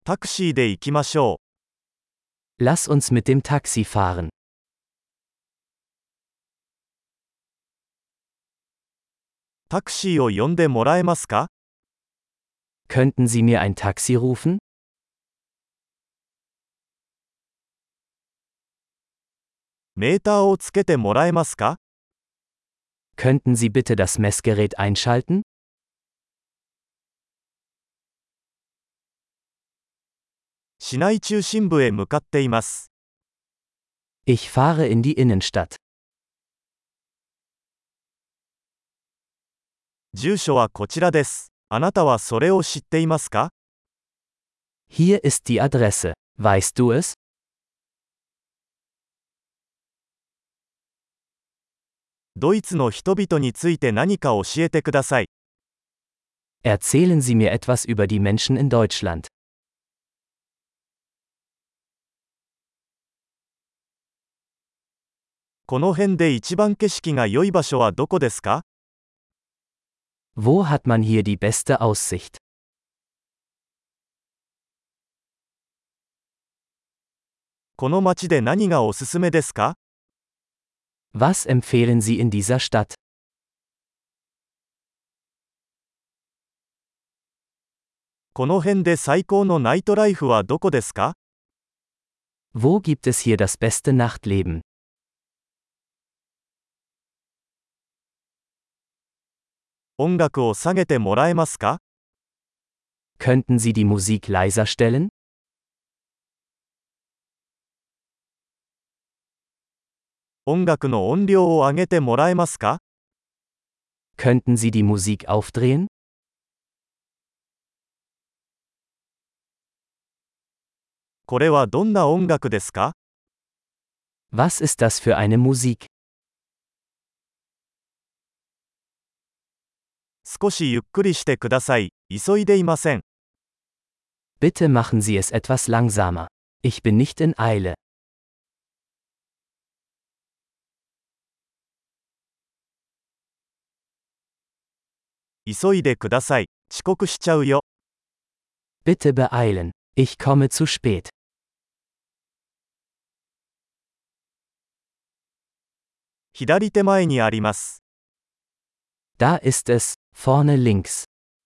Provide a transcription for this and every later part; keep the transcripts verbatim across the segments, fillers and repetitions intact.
タクシーで行きましょう。 Lass uns mit dem Taxi fahren. タクシーを呼んでもらえますか？ Könnten Sie mir ein Taxi rufen? メーターをつけてもらえますか？ Könnten Sie bitte das Messgerät einschalten? 市内中心部へ向かっています。 Ich fahre in die Innenstadt. 住所はこちらです。あなたはそれを知っていますか？ Hier ist die Adresse. Weißt du es? ドイツの人々について何か教えてください。 Erzählen Sie mir etwas über die Menschen in Deutschland. この辺で一番景色が良い場所はどこですか？ Wo hat man hier die beste Aussicht? この街で何がおすすめですか？ Was empfehlen Sie in dieser Stadt? この辺で最高のナイトライフはどこですか？ Wo gibt es hier das beste Nachtleben? 音楽を下げてもらえますか？ Könnten Sie die Musik leiser stellen? 音楽の音量を上げてもらえますか？ Könnten Sie die Musik aufdrehen? これはどんな音楽ですか？ Was ist das für eine Musik? 少しゆっくりしてください。急いでいません。 Bitte machen Sie es etwas langsamer. Ich bin nicht in Eile. 急いでください。遅刻しちゃうよ。 Bitte beeilen. Ich komme zu spät. 左手前にあります。 Da ist es, vorne links.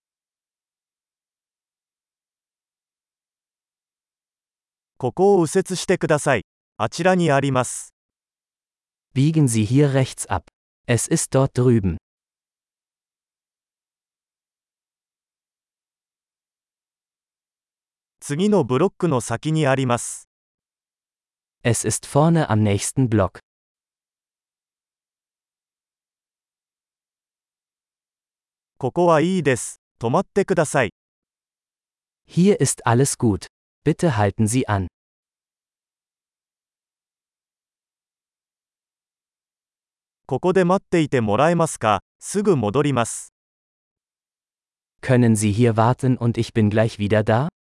ここを右折してください。あちらにあります。 Biegen Sie hier rechts ab. Es ist dort drüben. 次のブロックの先にあります。 Es ist vorne am nächsten Block. ここはいいです。止まってください。 Hier ist alles gut. Bitte halten Sie an. ここで待っていてもらえますか？すぐ戻ります。 Können Sie hier warten und ich bin gleich wieder da?